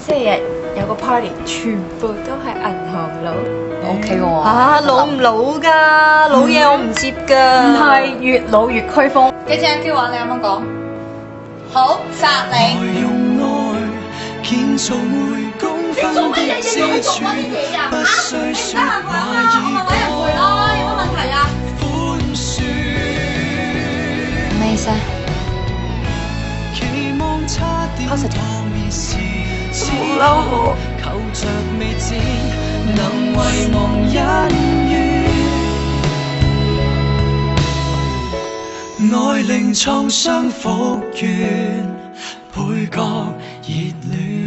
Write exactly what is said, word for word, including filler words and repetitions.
星期日有個 party，全部都係銀行佬。 O K 喎。 嚇老唔老㗎？老嘢我唔接㗎。 唔係越老越驅風。 幾隻 Q 啊？你啱啱講。好，殺你。 用愛建造每公分的支柱，不需說話已講寬恕。 咩意思啊？ 期望差點破滅時，只好嬲我求着未知，能遺忘恩怨。愛令創傷復原，倍覺熱戀。